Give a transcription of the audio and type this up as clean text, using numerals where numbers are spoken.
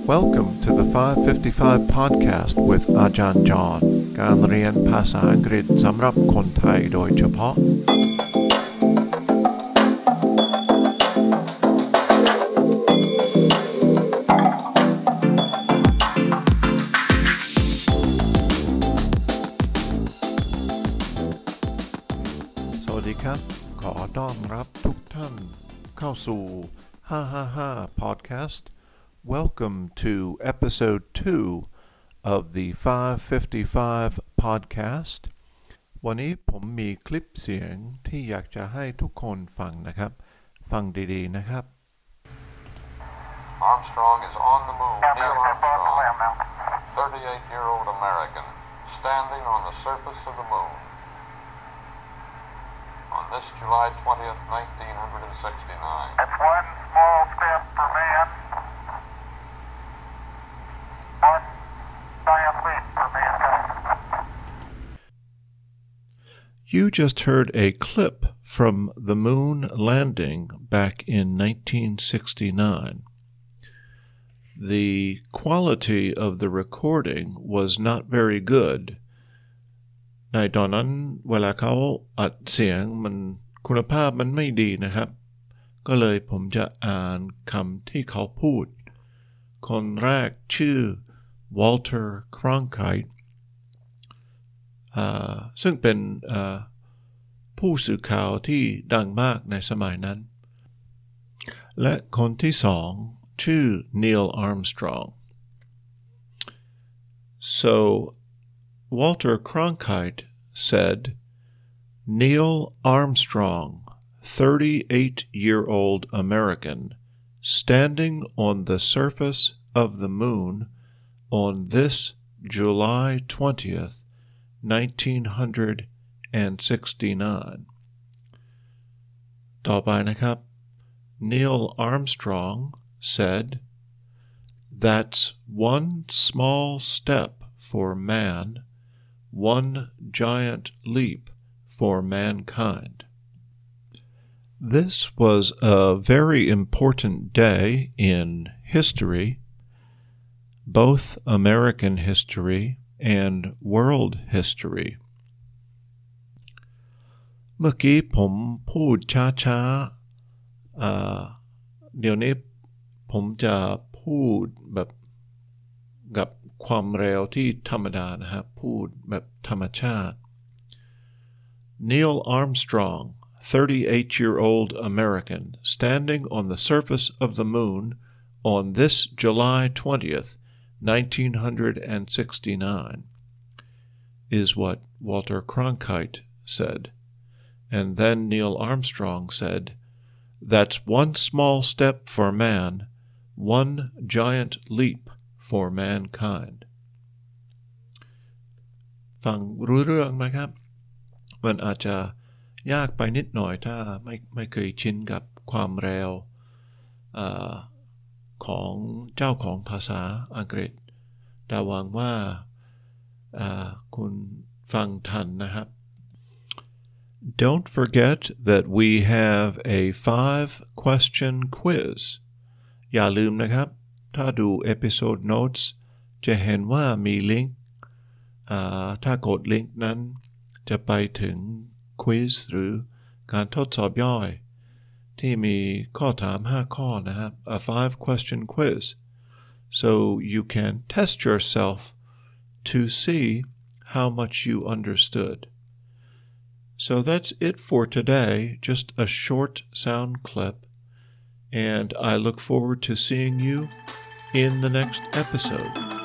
Welcome to the 555 podcast with อาจารย์จอห์นการเรียนภาษาอังกฤษสำหรับคนไทยโดยเฉพาะสวัสดีครับขอต้อนรับทุกท่านเข้าสู่555 podcast. Welcome to episode 2 of the 555 podcast. วันนี้ผมมีคลิปเสียงที่อยากจะให้ทุกคนฟังนะครับฟังดีๆนะครับ Armstrong is on the moon. Neil Armstrong, 38-year-old American, standing on the surface of the moon. On this July 20th, 1969. That's one small step for man, one giant leap for mankind. You just heard a clip from the moon landing back in 1969. The quality of the recording was not very good. ในตอนนั้นเวลาเขาอัดเสียงมันคุณภาพมันไม่ดีนะครับก็เลยผมจะอ่านคำที่เขาพูดคนแรกชื่อ Walter Cronkite ซึ่งเป็นผู้สื่อข่าวที่ดังมากในสมัยนั้นและคนที่สองชื่อ Neil Armstrong. So Walter Cronkite said, Neil Armstrong, 38-year-old American, standing on the surface of the moon on this July 20th, 1969. ต่อไปนะครับ Neil Armstrong said, That's one small step for man, one giant leap for mankind. This was a very important day in history, both American history and world history. เมื่อกี้ผมพูดช้าๆเดี๋ยวนี้ผมจะพูดแบบกับความเร็วที่ธรรมดานะครับพูดแบบธรรมชาติ Neil Armstrong, 38-year-old American, standing on the surface of the moon on this July 20th, 1969, is what Walter Cronkite said. And then Neil Armstrong said, That's one small step for man, one giant leap for mankind. ฟังรู้เรื่องไหมครับมันอาจจะยากไปนิดหน่อยถ้าไม่เคยชินกับความเร็วของเจ้าของภาษาอังกฤษแต่หวังว่าคุณฟังทันนะครับ Don't forget that we have a 5-question quiz อย่าลืมนะครับถ้าดู episode notes จะเห็นว่ามีลิงก์ถ้ากดลิงก์นั้นจะไปถึง quiz หรือการทดสอบย่อยที่มีข้อถาม5ข้อนะครับ a 5-question quiz so you can test yourself to see how much you understood. So that's it for today, just a short sound clip, and I look forward to seeing you in the next episode.